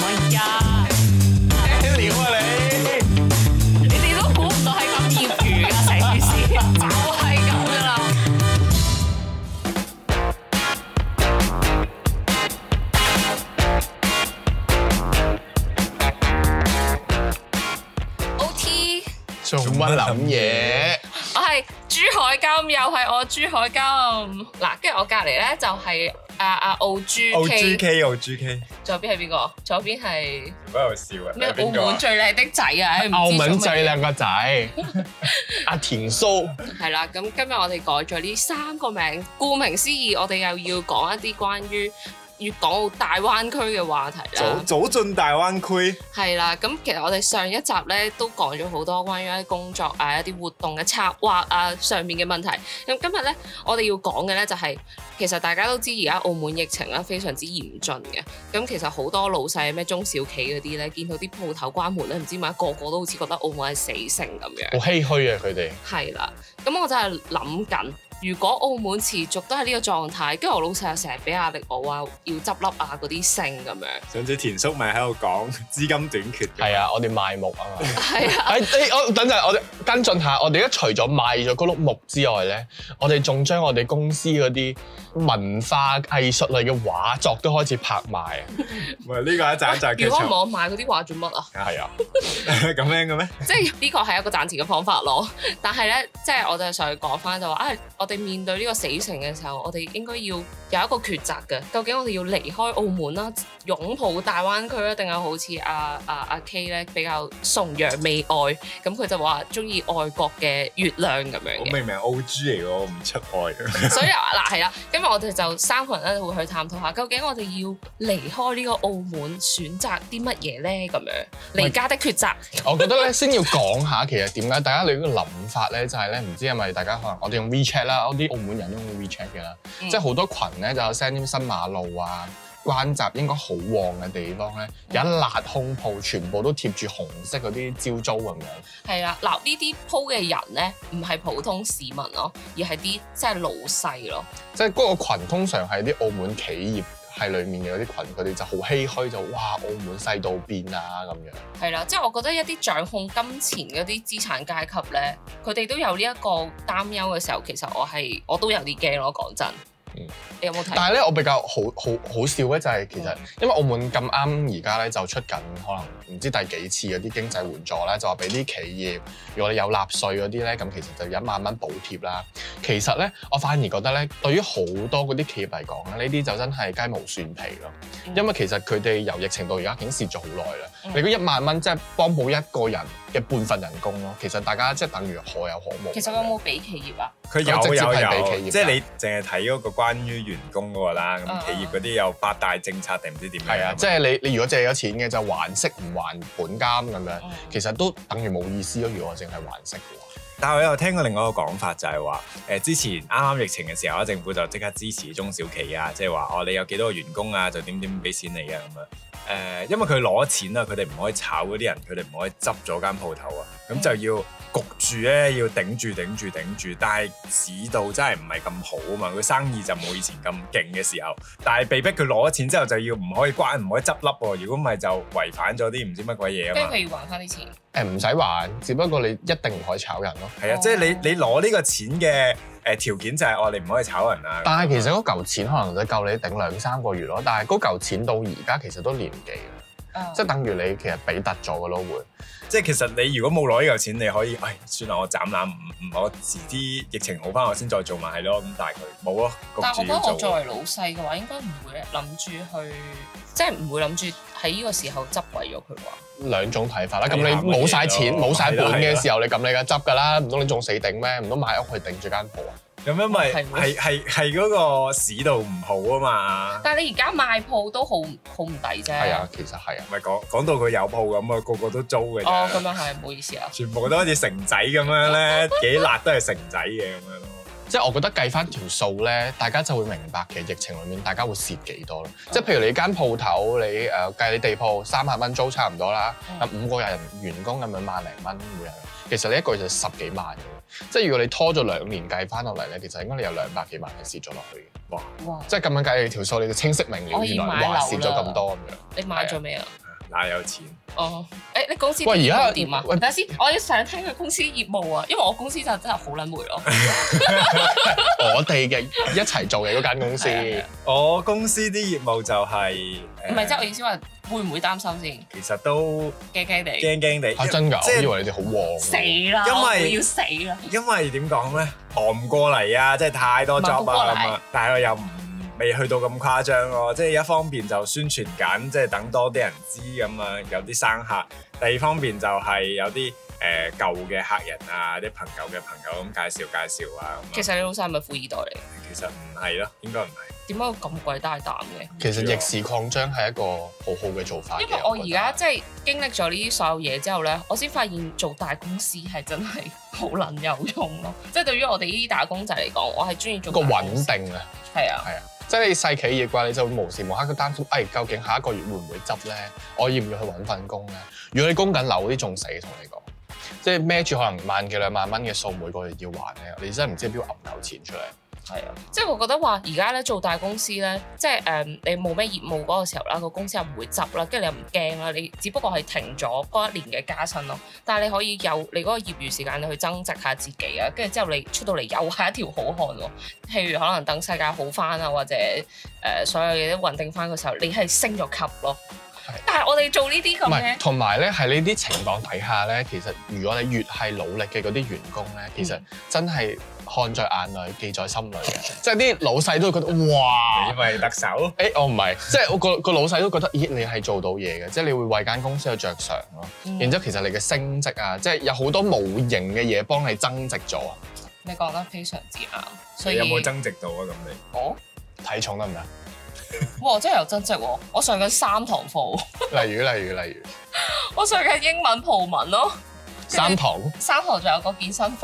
哎呀， 料啊你！ 你哋都估唔到係咁業餘㗎，成件事就係咁㗎啦。OT， 做乜諗嘢？ 我係朱海金，又係我朱海金。嗱，跟住我隔離咧就係阿澳豬 K， 澳豬 K， 左邊係邊個？左邊係唔喺度笑啊！ 咩？澳門最靚的仔啊！ 澳門最靚個仔，阿田蘇。 係啦，咁今日我哋改咗呢3個名，顧名思義，我哋又要講一啲關於粵港澳大灣區嘅話題啦。 早進大灣區係啦，咁其實我哋上一集咧都講咗好多關於一啲工作啊、一啲活動嘅策劃啊上面嘅問題。咁今日咧，我哋要講嘅咧就係、其實大家都知而家澳門疫情咧非常之嚴峻嘅。咁其實好多老細咩中小企嗰啲咧，見到啲鋪頭關門咧，唔知點解個個都好似覺得澳門係死城咁樣。 好唏噓啊！佢哋係啦，咁我就係諗緊。如果澳門持續都係呢個狀態，跟住我老細又成日俾壓力我話要執笠啊嗰啲剩咁樣。 上次田叔咪喺度講資金短缺嘅。 係啊，我哋賣木啊嘛。 係啊， 我等陣，我哋跟進下，我哋而家除咗賣咗嗰碌木之外咧，我哋仲將我哋公司嗰啲文化藝術類嘅畫作都開始拍賣啊。 唔係呢個一陣就係如果我賣嗰啲畫做乜啊？ 係啊， 咁樣嘅咩？ 即係呢個係一個賺錢嘅方法咯。但係咧，即係我就想講翻就話我哋面對呢個死城嘅時候，我哋應該要有一個抉擇嘅。究竟我哋要離開澳門啦，擁抱大灣區啊，定係好似阿 K 咧比較崇洋媚外，咁佢就話中意外國嘅月亮咁樣嘅。 我明明係澳豬嚟喎，我唔出外。 所以嗱係啦，今日我哋就3個人咧會去探討下，究竟我哋要離開呢個澳門，選擇啲乜嘢咧？咁樣離家的抉擇。 我覺得咧先要講下，其實點解大家你呢個諗法咧，就係咧唔知係咪大家可能我哋用 WeChat 啦，我啲澳門人都用 WeChat 嘅啦，即係好多群咧就有 send 啲新馬路啊。關閘應該好旺嘅地方咧，有一辣空鋪，全部都貼住紅色嗰啲招租咁樣。 係啦，嗱呢啲鋪嘅人咧，唔係普通市民咯，而係啲即係老細咯。 即係嗰個羣通常係啲澳門企業係裡面嘅嗰啲群，佢哋就好唏噓，就哇澳門細到變啊咁樣。係啦，即係我覺得一啲掌控金錢嗰啲資產階級咧，佢哋都有呢一個擔憂嘅時候，其實我都有啲驚咯，講真。你有冇睇？ 但係咧，我比較好笑嘅就係其實，因為澳門咁啱而家咧就出緊可能唔知第幾次嗰啲經濟援助咧，就話俾啲企業，如果你有納稅嗰啲咧，咁其實就1萬蚊補貼啦。其實咧，我反而覺得咧，對於好多嗰啲企業嚟講咧，呢啲就真係雞毛蒜皮咯。因為其實佢哋由疫情到而家已經蝕咗好耐啦。你嗰1萬蚊即係幫補一個人嘅半份人工咯。其實大家即係等於可有可無。 其實有冇俾企業啊？ 佢有，即係你淨係睇嗰個關於員工嗰個啦，咁企業嗰啲有8大政策定唔知點樣？ 係啊，即係你如果借咗錢嘅就還息唔還本金咁樣，其實都等於冇意思咯。如果我淨係還息嘅話， 但係我又聽過另外一個講法，就係話之前啱啱疫情嘅時候，政府就即刻支持中小企啊，即係話你有幾多個員工啊，就點俾錢你啊咁樣。因為佢攞錢啊，佢哋唔可以炒嗰啲人，佢哋唔可以執咗間鋪頭啊，咁就要焗住咧，要頂住。但係市道真係唔係咁好啊嘛，佢生意就冇以前咁勁嘅時候，但係被逼佢攞咗錢之後就要唔可以關，唔可以執笠喎。如果唔係就違反咗啲唔知乜鬼嘢啊嘛。 跟住佢要還翻啲錢。 唔使還，只不過你一定唔可以炒人咯。 係啊，即係你攞呢個錢嘅條件就係你唔可以炒人啊。 但係其實嗰嚿錢可能就夠你頂2-3個月咯。但係嗰嚿錢到而家其實都年幾啦，即係等於你其實俾突咗嘅咯會。 即係其實你如果冇攞呢嚿錢，你可以算啦，我斬纜我遲啲疫情好翻，我先再做埋係咯。咁但係佢冇咯， 但係我覺得我作為老細嘅話，應該唔會諗住去，即係唔會諗住喺呢個時候執毀咗佢話。 兩種睇法啦。咁你冇晒錢冇晒本嘅時候，你咁你梗係執㗎啦，唔通你仲死頂咩？唔通買屋去頂住間鋪啊？ 咁因為係嗰個市道唔好啊嘛。 但係你而家賣鋪都好唔抵啫。 係啊，其實係啊。 唔係講到佢有鋪咁啊，個個都租嘅。 哦，咁樣係，唔好意思啊。 全部都好似城仔咁樣咧，幾辣都係城仔嘅咁樣咯。 即係我覺得計翻條數咧，大家就會明白其實疫情裏面大家會蝕幾多咯。即係譬如你間鋪頭，你計你地鋪3萬蚊租差唔多啦，5個人員工咁樣萬零蚊每人，其實你一個月就10幾萬嘅。即係如果你拖咗2年計翻落嚟咧，其實應該你有200幾萬係蝕咗落去嘅。哇！即係咁樣計你條數，你就清晰明了，原來哇蝕咗咁多咁樣。 你買咗未啊？ 嗱有錢。 哦，你公司喂而家點啊？ 喂等下先，我要想聽佢公司業務啊，因為我公司就真係好撚霉咯。 我哋嘅一齊做嘅嗰間公司， 係啊我公司啲業務就係唔係，即係我意思話會唔會擔心先？ 其實都驚驚地， 驚驚地。 真㗎， 即係我以為你哋好旺。 死啦！ 因為我會要死啦！ 因為點講咧，忙唔過嚟啊，即係太多 job 忙唔過嚟啊咁啊，但係我又未去到咁誇張咯，即係一方面就宣傳緊，即係等多啲人知咁啊，有啲生客；第二方面就係有啲舊嘅客人啊，啲朋友嘅朋友咁介紹啊。 其實你老細係咪富二代嚟？ 其實唔係咯，應該唔係。 點解會咁鬼大膽嘅？ 其實逆市擴張係一個好好嘅做法嘅。 因為我而家即係經歷咗呢啲所有嘢之後咧，我先發現做大公司係真係好撚有用咯。即係對於我哋呢啲打工仔嚟講，我係中意做個大公司穩定啊， 係啊， 係啊，即係你細企業嘅話，你就會無時無刻都擔心，究竟下一個月會唔會執咧？我要唔要去揾份工咧？如果你供緊樓啲仲死，同你講，即係孭住可能萬幾兩萬蚊嘅數每個月要還咧，你真係唔知邊度揞夠錢出嚟。 係啊，即係我覺得話而家咧做大公司咧，即係你冇咩業務嗰個時候啦，個公司又唔會執啦，跟住你又唔驚啦，你只不過係停咗嗰一年嘅加薪咯。但係你可以有你嗰個業餘時間，你去增值下自己啊，跟住之後你出到嚟又係一條好漢喎。譬如可能等世界好翻啊，或者所有嘢都穩定翻嘅時候，你係升咗級咯。但係我哋做呢啲咁嘅， 同埋咧喺呢啲情況底下咧，其實如果你越係努力嘅嗰啲員工咧，其實真係看在眼裏，記在心裏嘅。即係啲老細都會覺得哇， 你咪特首？ 我唔係，即係我個老細都覺得，咦，你係做到嘢嘅，即係你會為間公司去着想咯。然之後其實你嘅升職啊，即係有好多無形嘅嘢幫你增值咗啊。 你講得非常之啱。所以有冇增值到啊？咁你我體重得唔得？ 哇！真係有增值喎！我上緊3堂課， 例如， 我上緊英文葡文咯。 3堂 3堂仲有個健身課。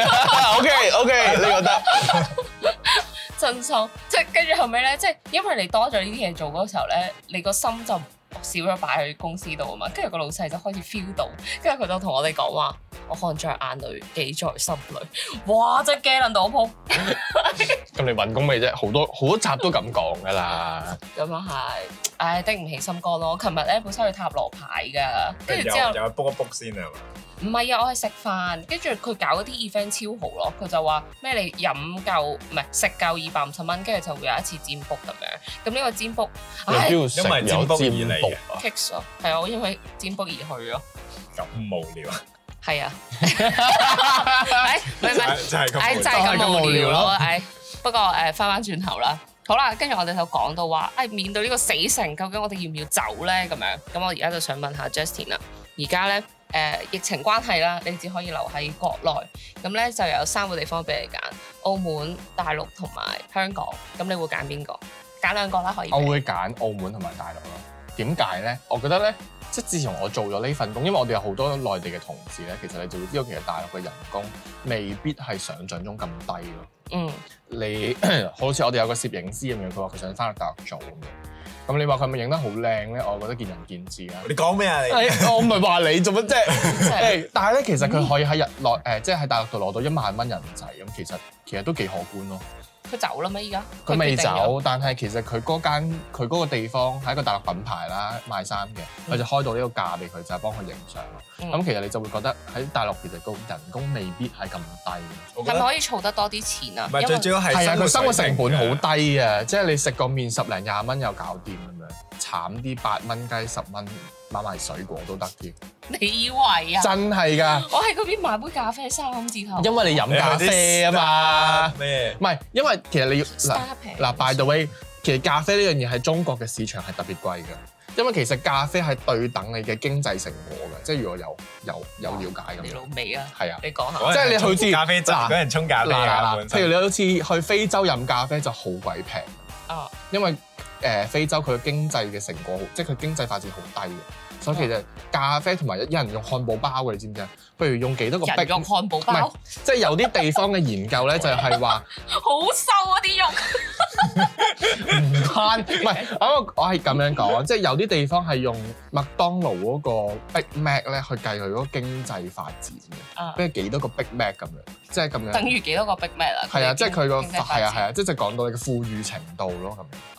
OK，你覺得？ 真心，即係跟住後尾咧，即係因為你多咗呢啲嘢做嗰個時候咧，你個心就少咗擺喺公司度啊嘛。跟住個老細就開始 feel 到，跟住佢就同我哋講話：我看在眼裏，記在心裏。哇！真係驚撚到我鋪。 咁你揾工未啫？好多集都咁講㗎啦。 咁又係，唉，頂唔起心肝咯。我琴日咧本身去塔羅牌㗎，跟住之後又卜一卜先係嘛？ 唔係啊，我係食飯，跟住佢搞嗰啲 event 超好咯。佢就話咩你飲夠唔係食夠250蚊，跟住就會有一次占卜咁樣。咁呢個占卜，唉因為占卜而嚟啊。 ，Kicks 咯，係啊，我因為占卜而去咯。 咁無聊啊！ 係啊，唔係， 就係咁， 就係咁無聊咯。不過翻轉頭啦，好啦，跟住我哋就講到話，面對呢個死城，究竟我哋要唔要走咧？咁樣，咁我而家就想問下 Justin 啦，而家咧疫情關係啦，你只可以留喺國內，咁咧就有3個地方俾你揀，澳門、大陸同埋香港，咁你會揀邊個？揀2個啦，可以。 我會揀澳門同埋大陸咯。點解咧？我覺得咧，即係自從我做咗呢份工，因為我哋有好多內地嘅同事咧，其實你就會知道，其實大陸嘅人工未必係想像中咁低咯。你好似我哋有個攝影師咁樣，佢話佢想翻去大陸做咁樣。咁你話佢係咪影得好靚咧？我覺得見仁見智啦。 你講咩啊？你我唔係話你做乜啫？但係咧，其實佢可以喺即係喺大陸度攞到1萬蚊人仔咁，其實都幾可觀咯。 佢走啦咩？依家佢未走，但係其實佢嗰個地方係一個大陸品牌啦，賣衫嘅，佢就開到呢個價俾佢，就係幫佢影相咯。咁其實你就會覺得喺大陸其實個人工未必係咁低。 係咪可以儲得多啲錢啊？ 唔係最主要係佢生活成本好低啊！即係你食個麵10零20蚊又搞掂咁樣，慘啲8蚊雞10蚊買埋水果都得添。 你以為啊？ 真係㗎！ 我喺嗰邊買杯咖啡3字頭。 因為你飲咖啡啊嘛。 咩？ 唔係，因為其實你要by the way，其實咖啡呢樣嘢喺中國嘅市場係特別貴㗎。因為其實咖啡係對等你嘅經濟成果嘅，即係如果有了解咁。 你老味啊！ 係啊， 你講下。 即係你好似咖啡嗰人沖咖啡啊， 譬如你好似去非洲飲咖啡就好鬼平。因為非洲佢嘅經濟嘅成果好，即係佢經濟發展好低嘅。所以其實咖啡同埋有人用漢堡包嘅，你知唔知啊？譬如用幾多個人用漢堡包， 即係有啲地方嘅研究咧，就係話好瘦啊啲肉。 唔關，唔係我係咁樣講，即係有啲地方係用麥當勞嗰個 Big Mac 咧去計佢嗰個經濟發展嘅，即係幾多個 Big Mac 咁樣，即係咁樣。 等於幾多個 Big Mac 啊？ 係啊，即係佢個係啊，即係講到你嘅富裕程度咯咁樣。 所以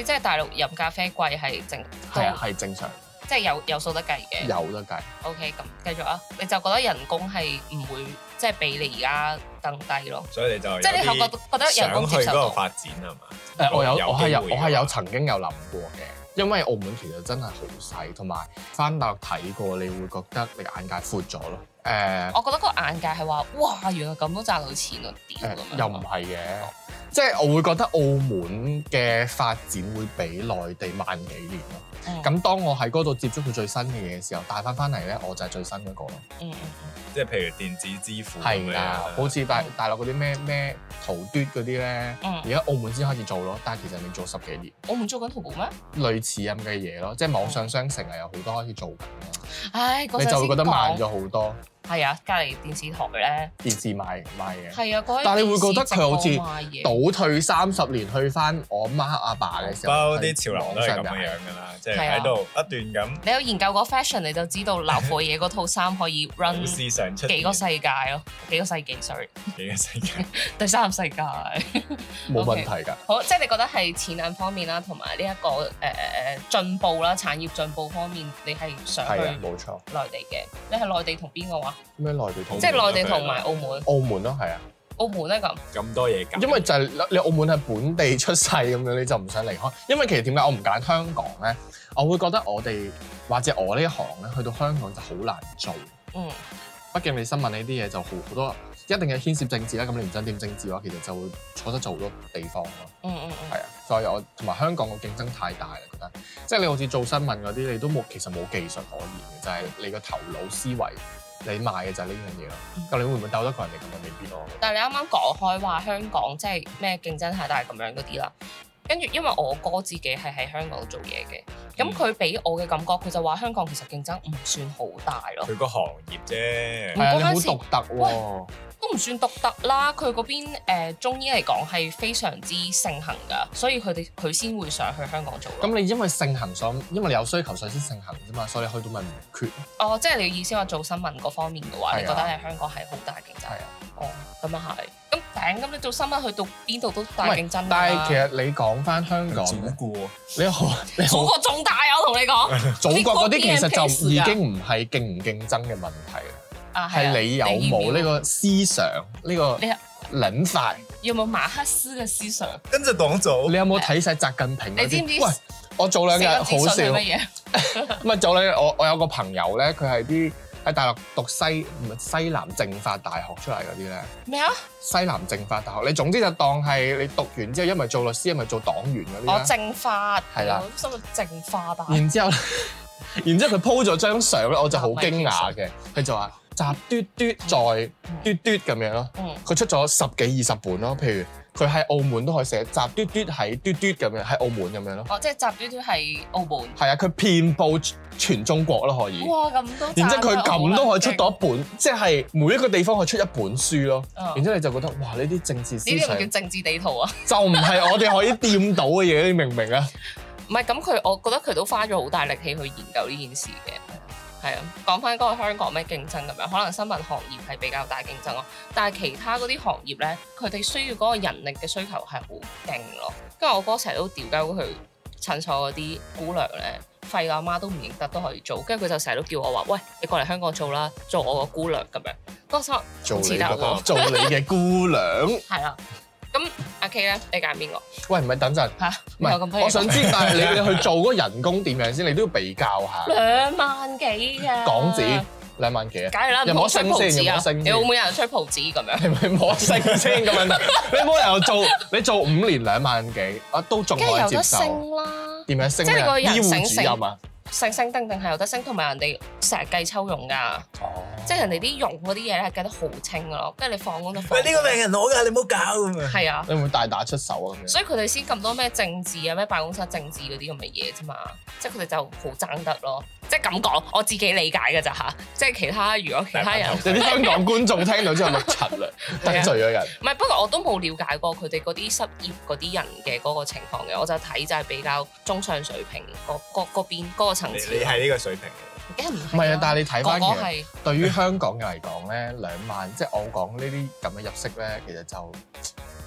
即係大陸飲咖啡貴係正， 係啊，係正常， 即係有數得計嘅。 有得計。 OK， 咁繼續啊！你就覺得人工係唔會即係比你而家更低咯？ 所以你就即係你覺得人工接受到想去嗰個發展係嘛？ 我係有機會曾經有諗過嘅，因為澳門其實真係好細，同埋翻大陸睇過，你會覺得你眼界闊咗咯。 我覺得個眼界係話，哇，原來咁都賺到錢啊！屌咁樣。 又唔係嘅，即係我會覺得澳門嘅發展會比內地慢幾年咯。咁當我喺嗰度接觸到最新嘅嘢嘅時候，帶翻嚟咧，我就係最新嗰個咯。 即係譬如電子支付係啦，好似大陸嗰啲咩淘嘟嗰啲咧，而家澳門先開始做咯，但係其實你做10幾年。 澳門做緊淘寶咩？ 類似咁嘅嘢咯，即係網上商城係有好多開始做緊咯。 唉， 你就會覺得慢咗好多。 係啊，隔離電視台咧， 電視賣嘅。 係啊， 但係你會覺得佢好似倒退30年去翻我媽阿爸嘅時候， 包啲潮流都係咁樣㗎啦，即係喺度不斷咁。 你有研究過 fashion， 你就知道鬧貨嘢嗰套衫可以 run 幾個世界咯，幾個世紀 sorry， 幾個世界，第3世界冇問題㗎。 好，即係你覺得係錢銀方面啦，同埋呢一個進步啦，產業進步方面，你係想去冇錯內地嘅？你係內地同邊個話？ 咩內地同？ 即係內地同埋澳門。 澳門咯，係啊。 澳門咧咁多嘢揀。 因為就係你澳門係本地出世咁樣，你就唔想離開。因為其實點解我唔揀香港咧？我會覺得我哋或者我呢一行咧，去到香港就好難做。畢竟你新聞呢啲嘢就好多，一定係牽涉政治啦。咁你唔想掂政治嘅話，其實就會錯失咗好多地方咯。係啊，所以我同埋香港個競爭太大啦，覺得即係你好似做新聞嗰啲，你都其實冇技術可言嘅，就係你個頭腦思維。你賣嘅就係呢樣嘢咯，咁你會唔會鬥得過人哋咁啊？未必咯。 但係你啱啱講開話香港即係咩競爭太大咁樣嗰啲啦，跟住因為我哥自己係喺香港做嘢嘅，咁佢俾我嘅感覺，佢就話香港其實競爭唔算好大咯。 佢個行業啫， 係啊，你好獨特喎。 都唔算獨特啦，佢嗰邊中醫嚟講係非常之盛行㗎，所以佢先會想去香港做。 咁你因為盛行因為你有需求所以先盛行啫嘛，所以你去到咪唔缺。 哦，即係你嘅意思話做新聞嗰方面嘅話，你覺得喺香港係好大競爭？ 係啊。 哦，咁啊係。咁你做新聞去到邊度都大競爭㗎。 但係其實你講翻香港咧，你好， 祖國仲大，我同你講。 祖國嗰啲其實就已經唔係競唔競爭嘅問題啦。係你有冇呢個思想呢個諗法？ 有冇馬克思嘅思想？ 跟住黨組， 你有冇睇晒習近平嗰啲？ 你知唔知？ 喂，我早兩日好笑。 乜嘢？ 唔係早兩日，我有個朋友咧，佢係喺大陸讀西南政法大學出嚟嗰啲咧。咩啊？西南政法大學，你總之就當係你讀完之後，一係做律師，一係做黨員嗰啲。 政法係啦，我心諗政法大學。然之後佢 po 咗張相咧，我就好驚訝嘅，佢就話。集嘟嘟再嘟嘟咁樣咯，佢出咗10幾20本咯。譬如佢喺澳門都可以寫集嘟嘟喺嘟嘟咁樣，喺澳門咁樣咯。 哦，即係集嘟嘟喺澳門。係啊，佢遍佈全中國咯，可以。 哇，咁多！ 然之後佢咁都可以出到一本，即係每一個地方可以出一本書咯。然之後你就覺得哇，呢啲政治思想， 呢啲叫政治地圖啊？ 就唔係我哋可以掂到嘅嘢，你明唔明啊？ 唔係咁，我覺得佢都花咗好大力氣去研究呢件事嘅。係啊，講翻嗰個香港咩競爭咁樣，可能新聞行業係比較大競爭咯，但係其他嗰啲行業咧，佢哋需要嗰個人力嘅需求係好勁咯。跟住我哥成日都屌鳩佢診所嗰啲姑娘咧，廢阿媽都唔認得都可以做，跟住佢就成日都叫我話：喂，你過嚟香港做啦，做我個姑娘咁樣。嗰時做你嘅姑娘。 係啦。咁阿 K 咧，你揀邊個？ 喂，唔係等陣嚇，唔係我想知，但係你去做嗰個人工點樣先？你都要比較下。 2萬幾㗎港紙2萬幾啊？ 梗係啦， 有冇升先？有冇升？ 你澳門人吹蒲子咁樣？ 係咪冇升先咁樣？你冇理由你做5年2萬幾啊，都仲可以接受。 有得升啦。 點樣升？ 即係你個人醫護主任啊？ 升定係有得升，同埋人哋成日計抽傭㗎。即係人哋啲傭嗰啲嘢咧係計得好清㗎咯，跟住你放工就放。 喂，呢個病人攞㗎，你唔好搞咁啊！ 係啊， 你會唔會大打出手啊？ 所以佢哋先咁多咩政治啊、咩辦公室政治嗰啲咁嘅嘢啫嘛，即係佢哋就好爭得咯。即係咁講，我自己理解㗎咋嚇。即係其他如果其他人， 有啲香港觀眾聽到之後碌柒啦，得罪咗人。 唔係，不過我都冇了解過佢哋嗰啲失業嗰啲人嘅嗰個情況嘅，我就睇就係比較中上水平嗰邊嗰個層次。 你係呢個水平。 唔係啊，但係你睇翻其實對於香港人嚟講咧，2萬即係我講呢啲咁嘅入息咧，其實就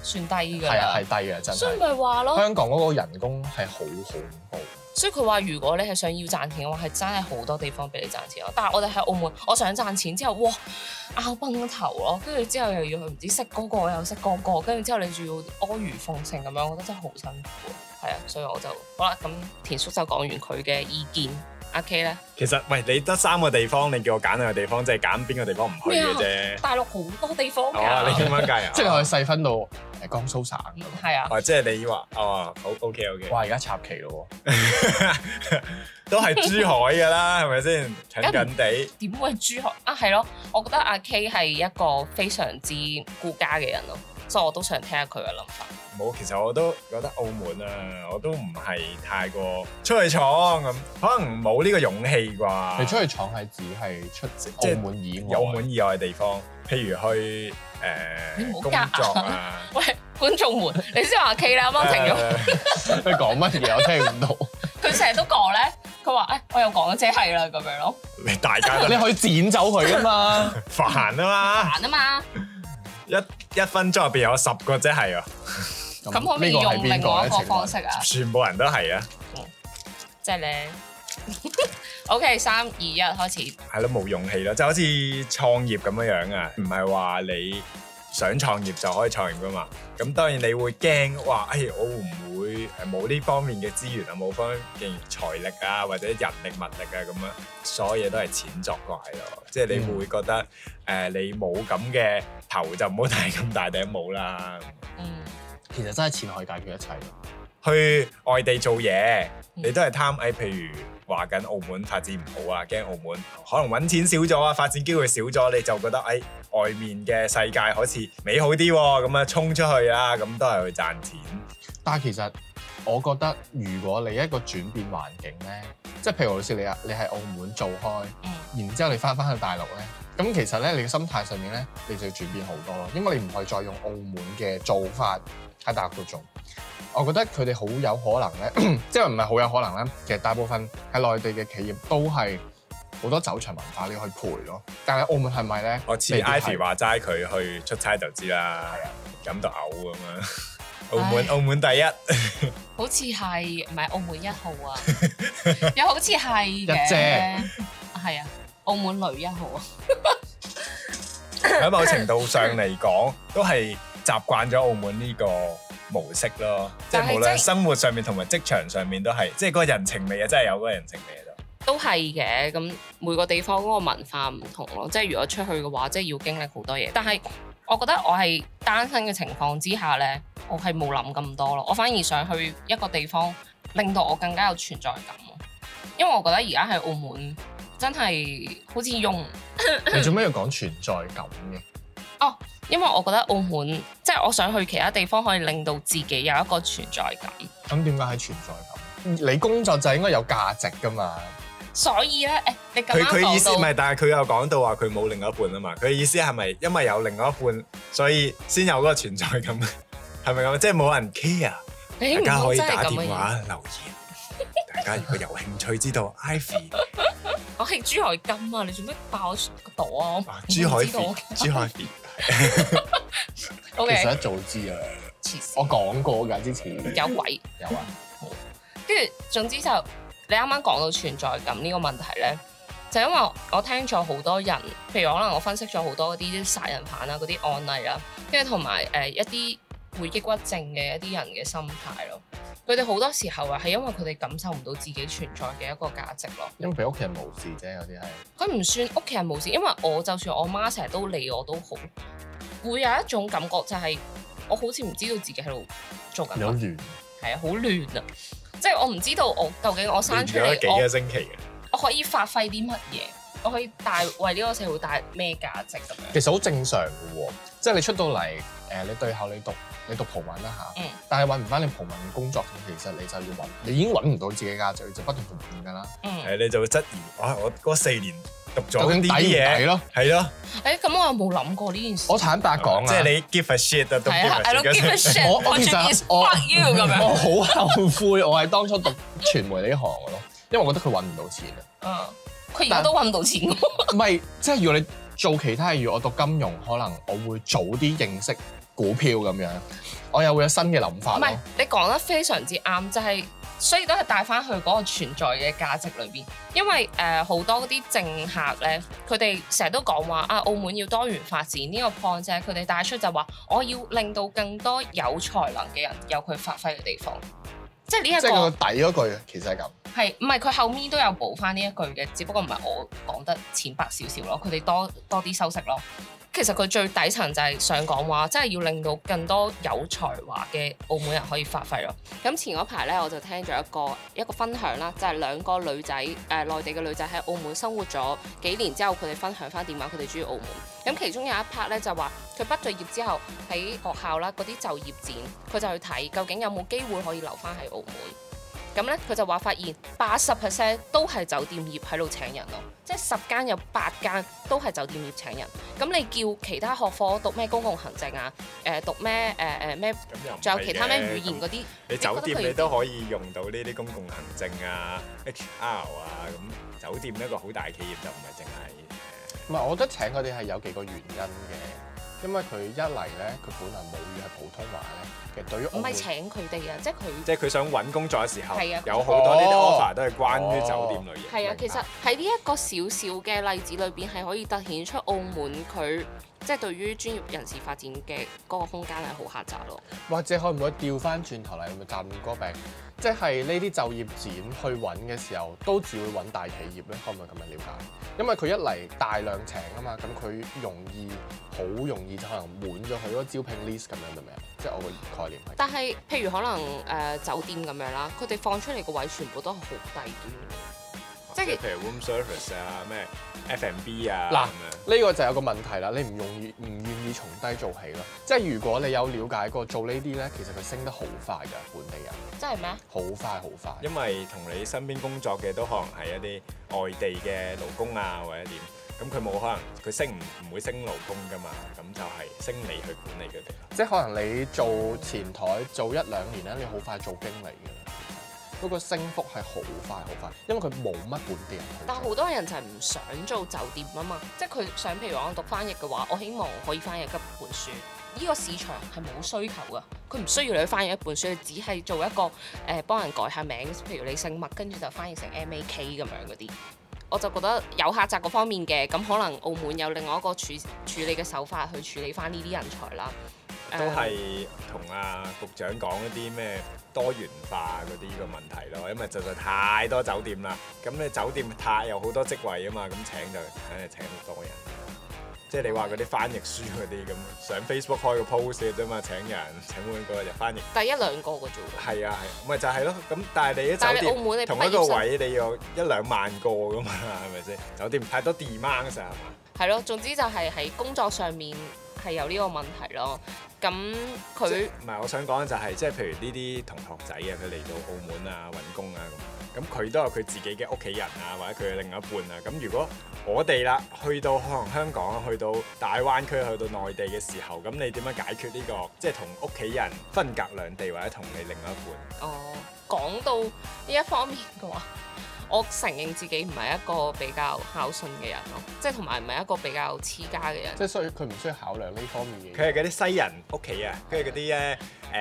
算低㗎係啊， 啦。 係低嘅真所以係。 咪話咯， 香港嗰個人工係好恐怖。 所以佢話如果你係想要賺錢嘅話，係真係好多地方俾你賺錢咯。但係我哋喺澳門，我想賺錢之後，哇，拗崩頭咯，跟住之後又要去唔知識嗰個又識嗰個，跟住之後你仲要阿諛奉承咁樣，我覺得真係好辛苦。係啊，所以我就好啦。咁田叔就講完佢嘅意見，阿 K 咧， 其實喂，你得3個地方，你叫我揀兩個地方，即係揀邊個地方唔去嘅啫。 大陸好多地方㗎。 哦，你咁樣計啊？ 即係你可以細分到江蘇省。 係啊， 哦，即係你話哦，好 OK。 哇！而家插旗咯都係珠海㗎啦，係咪先？近近地。 點會係珠海啊？係咯，我覺得阿 K 係一個非常之顧家嘅人咯，所以我都想聽下佢嘅諗法。 冇，其實我都覺得澳門啊，我都唔係太過出去闖咁，可能冇呢個勇氣啩。 你出去闖係指係出即係澳門以外， 澳門以外嘅地方，譬如去工你唔好夾作啊。 喂，觀眾們，你先話阿 K 啦，啱啱停咗。 你講乜嘢我聽唔到。 佢成日都講咧，佢話我有講即係啦咁樣咯， 你大家都你可以剪走佢㗎嘛。 煩啊嘛， 煩啊嘛。 一分鐘入邊有10個即係啊， 咁可唔可以用另外一個方式啊？ 全部人都係啊， 即係咧。OK， 3、2、1開始。 係咯，冇勇氣咯，就好似創業咁樣樣啊，唔係話你想創業就可以創業噶嘛。咁當然你會驚，哇！我會唔會冇呢方面嘅資源啊，冇方面嘅財力啊，或者人力物力啊咁樣，所有嘢都係錢作怪咯。即係你會覺得你冇咁嘅頭就唔好戴咁大頂帽啦。 其實真係錢可以解決一切。 去外地做嘢，你都係貪譬如話緊澳門發展唔好啊，驚澳門可能揾錢少咗啊，發展機會少咗，你就覺得外面嘅世界好似美好啲喎，咁啊衝出去啦，咁都係去賺錢。 但係其實我覺得，如果你一個轉變環境咧，即係譬如好似你喺澳門做開，然之後你翻去大陸咧，咁其實咧你嘅心態上面咧，你就要轉變好多咯，因為你唔可以再用澳門嘅做法喺大陸度做。我覺得佢哋好有可能咧，即係唔係好有可能咧？其實大部分喺內地嘅企業都係好多走場文化你要去陪咯。但係澳門係咪咧？ 我似 Ivy 話齋，佢去出差就知啦，飲到嘔咁樣。澳門第一， 好似係唔係澳門1號啊？又好似係一嘅， 姐係啊，澳門女1號啊。 喺某程度上嚟講，都係習慣咗澳門呢個模式咯，即係無論生活上面同埋職場上面都係，即係嗰個人情味啊，真係有嗰個人情味喺度。 都係嘅，咁每個地方嗰個文化唔同咯，即係如果出去嘅話，即係要經歷好多嘢。但係我覺得我係單身嘅情況之下咧，我係冇諗咁多咯，我反而想去一個地方，令到我更加有存在感咯。因為我覺得而家喺澳門真係好似用你做咩要講存在感嘅？ 哦，因為我覺得澳門即係我想去其他地方，可以令到自己有一個存在感。 咁點解係存在感？你工作就應該有價值㗎嘛。 所以咧，你咁啱佢意思講到唔係，但係佢又講到話佢冇另一半啊嘛。佢意思係咪因為有另外一半，所以先有嗰個存在感？係咪咁？即係冇人 care， 你大家可以真係打咁嘅電話留言。大家如果有興趣知道 Ivy， 我係珠海金啊！你做咩爆個朵啊？ 珠海知道 F，珠海 F。 O K， 其實一早知啊，我講過㗎之前。 有鬼有啊。 跟住總之就你啱啱講到存在感呢個問題咧，就因為我聽咗好多人，譬如可能我分析咗好多嗰啲殺人犯啊嗰啲案例啦，跟住同埋一啲會抑鬱症嘅一啲人嘅心態咯。佢哋好多時候啊，係因為佢哋感受唔到自己存在嘅一個價值咯。 因為俾屋企人無視啫，有啲係。 佢唔算屋企人無視，因為我就算我媽成日都理我都好，會有一種感覺就係我好似唔知道自己喺度做緊乜， 有亂。 係啊，好亂啊！即係我唔知道我究竟我生出咗幾個嚟， 星期嘅。 我可以發揮啲乜嘢，我可以為呢個社會帶咩價值咁樣。 其實好正常嘅喎，即係你出到嚟你對口你讀葡文啦嚇，但係揾唔翻你葡文嘅工作，其實你就要揾，你已經揾唔到自己價值，你就不斷變㗎啦。 你就會質疑，哇！我嗰4年讀咗究竟呢啲嘢， 咯， 係咯。 咁我又冇諗過呢件事。 我坦白講啊， 即係你 give a shit 啊，都 give a I don't give a shit。 shit， 我其實我 fuck you 咁樣。 我好後悔，我係當初讀傳媒呢一行嘅咯，因為我覺得佢揾唔到錢啊。 佢而家都揾唔到錢喎。 唔係，即係如果你做其他嘢，如果我讀金融，可能我會早啲認識股票咁樣，我又會有新嘅諗法咯。 唔係，你講得非常之啱，就係、所以都係帶翻去嗰個存在嘅價值裏邊。因為好多嗰啲政客咧，佢哋成日都講話啊，澳門要多元發展呢個 point 啫。佢哋帶出就話，我要令到更多有才能嘅人有佢發揮嘅地方。即係呢一個。 即係個底嗰句其實係咁。 係，唔係佢後面都有補翻呢一句嘅，只不過唔係我講得淺白少少咯，佢哋多啲修飾咯。其實佢最底層就係想講話，即係要令到更多有才華嘅澳門人可以發揮咯。咁前嗰排咧，我就聽咗一個分享啦，就係兩個女仔內地嘅女仔喺澳門生活咗幾年之後，佢哋分享翻點解佢哋中意澳門。咁其中有一 part 咧就話，佢畢咗業之後喺學校啦嗰啲就業展，佢就去睇究竟有冇機會可以留翻喺澳門。咁咧，佢就話發現80% 都係酒店業喺度請人咯，即係10間有8間都係酒店業請人。咁你叫其他學科讀咩公共行政啊？讀咩咩？仲有其他咩語言嗰啲？ 你酒店你都可以用到呢啲公共行政啊、HR 啊，咁酒店一個好大企業就唔係淨係。 唔係，我覺得請佢哋係有幾個原因嘅，因為佢一嚟咧，佢本來母語係普通話咧。其實對於唔係請佢哋啊， 即係佢想揾工作嘅時候， 啊、 有好多呢啲 offer 都係關於酒店類型。 係啊，其實喺呢一個小小嘅例子裏邊，係可以凸顯出澳門佢即係對於專業人士發展嘅嗰個空間係好狹窄咯。 或者可唔可以調翻轉頭嚟咪賺嗰個餅？即係呢啲就業展去揾嘅時候，都只會揾大企業咧，可唔可以咁樣了解？因為佢一嚟大量請啊嘛，咁佢好容易就可能滿咗佢嗰個招聘 list 咁樣，係咪啊？即係我個概念係。但係譬如可能酒店咁樣啦，佢哋放出嚟個位全部都係好低端。 即係譬如 room service 啊、咩 F&B 啊， 嗱呢個就有個問題啦，你唔願意從低做起咯。即係如果你有了解過做呢啲咧，其實佢升得好快㗎，本地人。 真係咩？ 好快好快。 因為同你身邊工作嘅都可能係一啲外地嘅勞工啊，或者點，咁佢冇可能佢升唔會升勞工㗎嘛，咁就係升你去管理佢哋。 即係可能你做前台做1-2年咧，你好快做經理㗎啦。嗰個升幅係好快好快，因為佢冇乜本地人。 但係好多人就係唔想做酒店啊嘛，即係佢想譬如話我讀翻譯嘅話，我希望可以翻譯一本書。呢個市場係冇需求㗎，佢唔需要你去翻譯一本書，你只係做一個幫人改下名，譬如你姓麥，跟住就翻譯成 MAK 咁樣嗰啲。我就覺得有客責嗰方面嘅，咁可能澳門有另外一個處理嘅手法去處理翻呢啲人才啦。 都係同阿局長講一啲咩多元化嗰啲個問題咯，因為實在太多酒店啦，咁你酒店有好多職位啊嘛，咁請就肯定請好多人。即係你話嗰啲翻譯書嗰啲咁，上 Facebook 開個 post 嘅啫嘛，請人請每個就翻譯。 第1-2個嘅啫喎。係啊係，咪就係咯。咁但係你啲酒店同一個位你要1-2萬個噶嘛，係咪先？酒店太多 demand 㗎係嘛？ 係咯，總之就係喺工作上面係有呢個問題咯。咁佢唔係我想講就係即係譬如呢啲同學仔啊，佢嚟到澳門啊揾工啊咁佢都有佢自己嘅屋企人啊，或者佢嘅另一半啊。咁如果我哋啦去到可能香港，去到大灣區，去到內地嘅時候，咁你點樣解決呢個即係同屋企人分隔兩地，或者同你另一半？ 哦，講到呢一方面嘅話，我承認自己唔係一個比較孝順嘅人咯，即係同埋唔係一個比較黐家嘅人。 即係所以佢唔需要考量呢方面嘅。 佢係嗰啲西人屋企啊，跟住嗰啲咧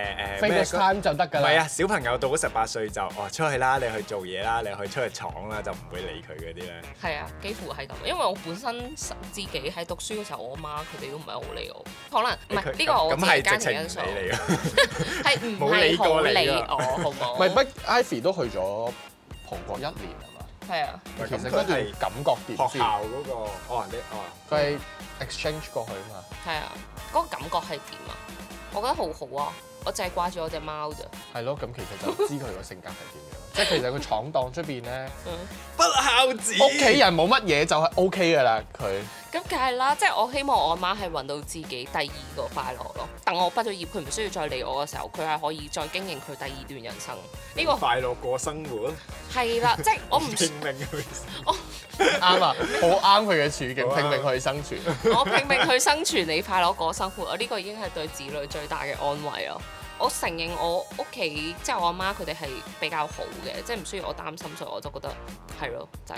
FaceTime 就得㗎啦。 唔係啊，小朋友到咗18歲就出去啦，你去做嘢啦，你去出去闖啦，就唔會理佢嗰啲咧。 係啊，幾乎係咁，因為我本身自己喺讀書嘅時候，我媽佢哋都唔係好理我，可能唔係呢個我自己家庭因素。係唔係好理我，好冇？ 唔係，不 Ivy 都去咗葡國1年係嘛？ 係啊， 其實嗰段感覺點先？ 學校嗰個佢係 exchange 過去啊嘛。 係啊，嗰個感覺係點啊？我覺得好好啊，我淨係掛住我隻貓咋。 係咯，咁其實就知佢個性格係點樣。即係其實佢闖蕩出邊咧， 不孝子， 屋企人冇乜嘢就係 OK 㗎啦，佢。 咁梗係啦，即係我希望我媽係揾到自己第2個快樂咯。等我畢咗業，佢唔需要再理我嘅時候，佢係可以再經營佢第2段人生。呢個快樂過生活。 係啦，即係我唔拼命去。 啱啊，好啱佢嘅處境，拼命去生存。 我拼命去生存，你快樂過生活，我呢個已經係對子女最大嘅安慰咯。我承認我屋企即係我阿媽佢哋係比較好嘅，即係唔需要我擔心，所以我就覺得係咯，就係咁。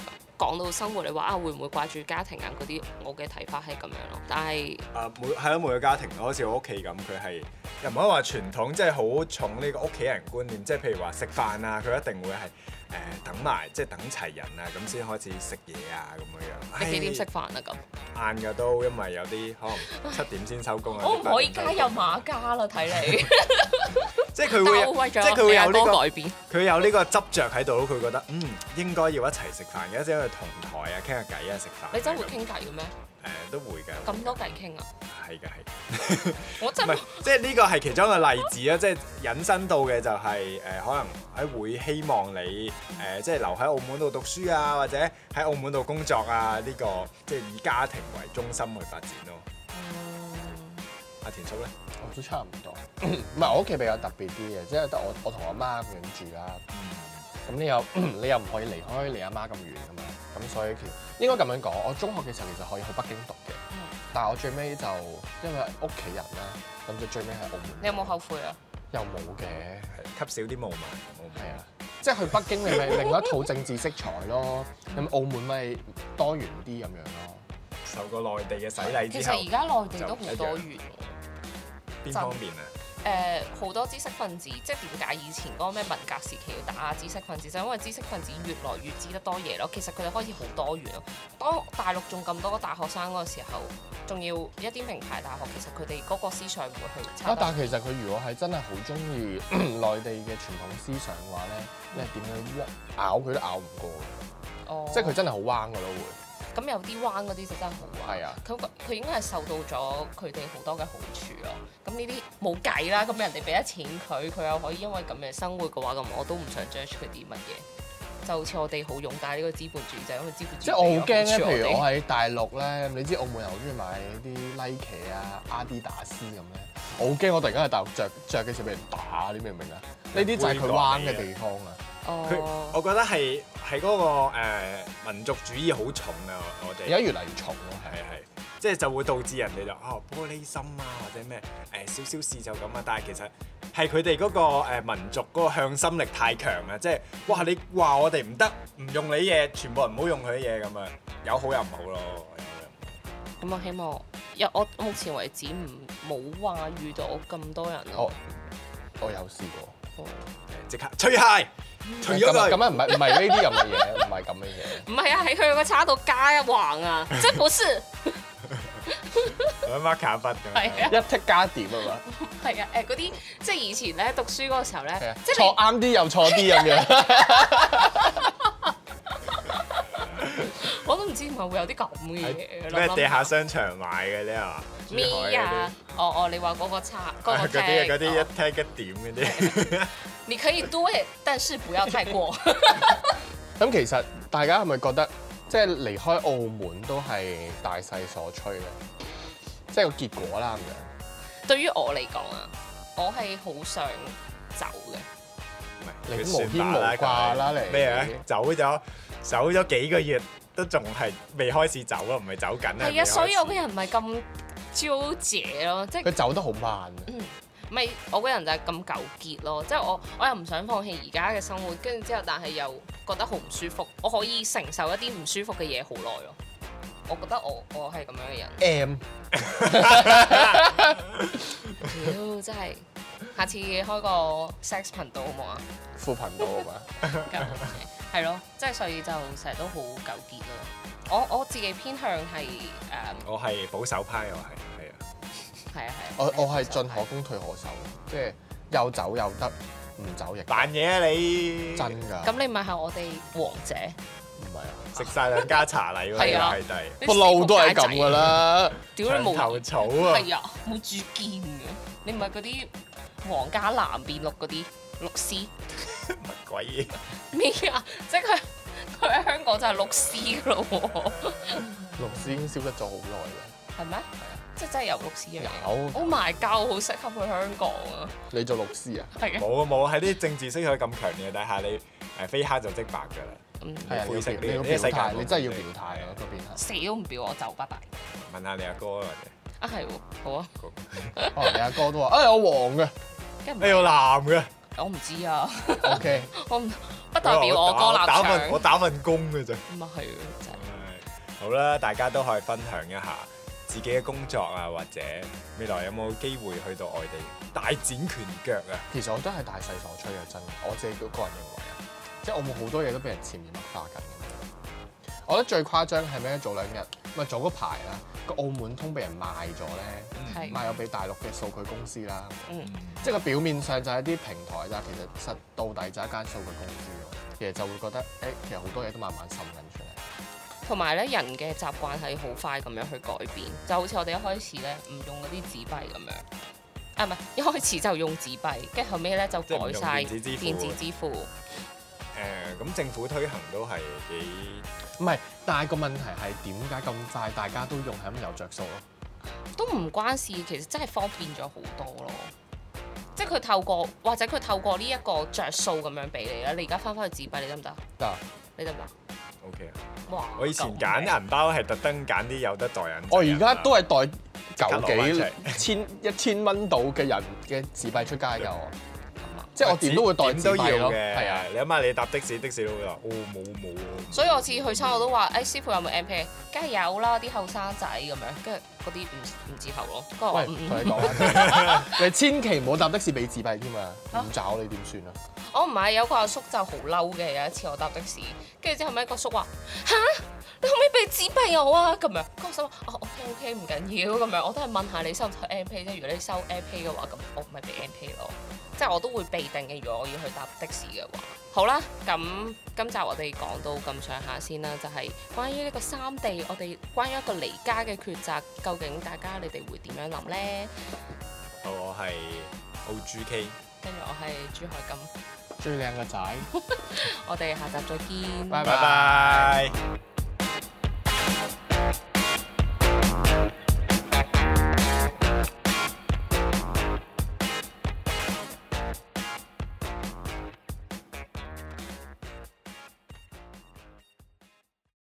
講到生活，你話會唔會掛住家庭啊嗰啲，我嘅睇法係咁樣咯。但係每個家庭好似我屋企咁，佢係又唔可以話傳統，即係好重呢個屋企人觀念，即係譬如話食飯啊，佢一定會係等埋，即係等齊人啊，咁先開始食嘢啊咁樣。 你幾點食飯啊咁？ 晏㗎都，因為有啲可能7點先收工啊。 我唔可以加入馬家啦，睇你。 即係佢會，即係佢會有呢個改變，佢有呢個執着喺度咯。佢覺得應該要一齊食飯嘅，即係同台啊傾下偈啊食飯。 你真會傾偈嘅咩？ 都會㗎。 咁多偈傾啊？ 係㗎。 我真唔係，即係呢個係其中一個例子啊！即係引申到嘅就係可能喺會希望你即係留喺澳門度讀書啊，或者喺澳門度工作啊。呢個即係以家庭為中心去發展咯。阿田叔咧？ 我都差唔多，唔係我屋企比較特別啲嘅，即係得我同我媽咁樣住啦。咁你又唔可以離開你阿媽咁遠㗎嘛，咁所以其實應該咁樣講，我中學嘅時候其實可以去北京讀嘅，但係我最尾就因為屋企人啦，咁就最尾喺澳門。 你有冇後悔啊？ 又冇嘅， 吸少啲霧霾。 係啊，即係去北京你咪另一套政治色彩咯，咁澳門咪多元啲咁樣咯。 受過內地嘅洗禮之後， 其實而家內地都好多元。 邊方面啊？ 好多知識分子，即係點解以前嗰個咩文革時期要打知識分子，就因為知識分子越來越知得多嘢咯。其實佢哋開始好多元咯。當大陸仲咁多大學生嗰個時候，仲要一啲名牌大學，其實佢哋嗰個思想唔會去差。 但係其實佢如果係真係好中意內地嘅傳統思想嘅話咧，你係點樣咬佢都咬唔過嘅。 哦， 即係佢真係好彎㗎咯會。 咁有啲彎嗰啲就真係好彎。係啊，佢應該係受到咗佢哋好多嘅好處咯。咁呢啲冇計啦。咁人哋俾咗錢佢又可以因為咁樣生活嘅話，咁我都唔想 judge 佢啲乜嘢。就好似我哋好勇但係呢個資本主義就係因為資本主義。即係我好驚咧，譬如我喺大陸咧，你知澳門人好中意買啲 Nike 啊、阿迪達斯咁咧，我好驚我突然間喺大陸着嘅時候俾人打，你明唔明啊？呢啲就係佢彎嘅地方啊。 我覺得係嗰個民族主義好重啊！我哋而家越嚟越重咯， 係，即係就會導致人哋就玻璃心啊，或者咩少少事就咁啊。但係其實係佢哋嗰個民族嗰個向心力太強啊！即係哇，你話我哋唔得，唔用你嘢，全部人唔好用佢啲嘢咁啊，有好有唔好咯。 咁我希望我目前為止冇話遇到咁多人咯。 我有試過。 即刻除鞋，除咗佢。 咁啊唔係呢啲咁嘅嘢，唔係咁嘅嘢。 唔係啊，喺佢個叉度加一橫啊，即係不是。 攞 marker 筆咁。係啊。一剔加點啊嘛。 係啊，嗰啲即係以前咧讀書嗰個時候咧，即係錯啱啲又錯啲咁樣。 我都唔知係咪會有啲咁嘅嘢。 咩地下商場買嘅啫嘛？ 咩啊？你話嗰個叉嗰個嗰啲一剔一點嗰啲。 你可以多，但是不要太過。 咁其實大家係咪覺得即係離開澳門都係大勢所趨咧？即係個結果啦咁樣。 對於我嚟講啊，我係好想走嘅。 你無牽無掛啦，你咩啊？走咗幾個月都仲係未開始走咯，唔係走緊啊。 係啊，所以我個人唔係咁糾結咯，即係佢走得好慢。 唔係我個人就係咁糾結咯，即係我又唔想放棄而家嘅生活，跟住之後但係又覺得好唔舒服，我可以承受一啲唔舒服嘅嘢好耐咯。我覺得我係咁樣嘅人。屌真係，下次開個 sex 頻道好唔好啊？ 副頻道啊嘛。 係咯，即係所以就成日都好糾結咯。我自己偏向係我係保守派，我係。 係啊。 我係進可攻退可守，即係又走又得，唔走亦扮嘢啊你！ 真㗎。 咁你咪係我哋王者？ 唔係啊， 食晒兩家茶禮喎， 係啊， 不嬲都係咁㗎啦。 屌你冇頭草啊！ 係啊，冇主見嘅。你唔係嗰啲皇家藍變綠嗰啲綠絲？ 乜鬼嘢？ 咩啊？即係佢喺香港就係綠絲咯喎。 綠絲已經消失咗好耐啦。 係咩？係啊。即係真係有綠絲嘅。 有。 Oh my god！好適合去香港啊！ 你做綠絲啊？ 係啊。 冇喺啲政治色彩咁強烈嘅底下，你非黑就即白㗎啦。 係啊，你要表態，你真係要表態啊！嗰邊係。 死都唔表我就拜拜。 問下你阿哥啦，或者。 啊係喎，好啊。 你阿哥都話：我黃嘅， 你有藍嘅。 我唔知啊。 OK。 我不代表我個立場。 我打份工嘅啫。 咁啊係真係。 好啦，大家都可以分享一下自己嘅工作啊，或者未來有冇機會去到外地大展拳腳啊？ 其實我都係大勢所趨嘅，真係我自己個人認為啊，即係澳門好多嘢都俾人潛移默化緊。我覺得最誇張係咩？早兩日咪早嗰排啦，個澳門通俾人賣咗咧，賣咗俾大陸嘅數據公司啦。即係個表面上就係啲平台咋，其實實到底就係一間數據公司咯。其實就會覺得其實好多嘢都慢慢滲緊出嚟。 同埋咧，人嘅習慣係好快咁樣去改變，就好似我哋一開始咧唔用嗰啲紙幣咁樣，啊唔係一開始就用紙幣，跟住後尾咧就改晒電子支付。 咁政府推行都係幾唔係，但係個問題係點解咁快大家都用係咁有着數咯？ 都唔關事，其實真係方便咗好多咯。即係佢透過或者佢透過呢一個着數咁樣俾你啦。你而家翻返去紙幣，你得唔得？ 得。 你得唔得？ OK 啊！ 哇！ 我以前揀銀包係特登揀啲有得代印。 我而家都係袋1000蚊到嘅人嘅紙幣出街㗎我。即係我點都會袋紙幣咯，係啊！ 你諗下，你搭的士都會話冇。 所以我次去親我都話，師傅有冇 M P？ 梗係有啦，啲後生仔咁樣，跟住嗰啲唔接頭咯。 喂，同你講你千祈唔好搭的士俾紙幣添啊！唔找你點算啊？ 我唔係，有個阿叔就好嬲嘅。有一次我搭的士，跟住之後尾個叔話吓，你可唔可以俾紙幣我啊？咁樣，跟住我心話OK 唔緊要咁樣，我都係問下你收唔收 M P 啫。如果你收 M P 嘅話，咁我咪俾 M P 咯。即係我都會備定嘅，如果我要去搭的士嘅話。好啦，咁今集我哋講到咁上下先啦，就係關於呢個三地，我哋關於一個離家嘅抉擇，究竟大家你哋會點樣諗咧？ 好，我係OGK， 跟住我係朱海金， 最靚嘅仔。 我哋下集再見， 拜拜。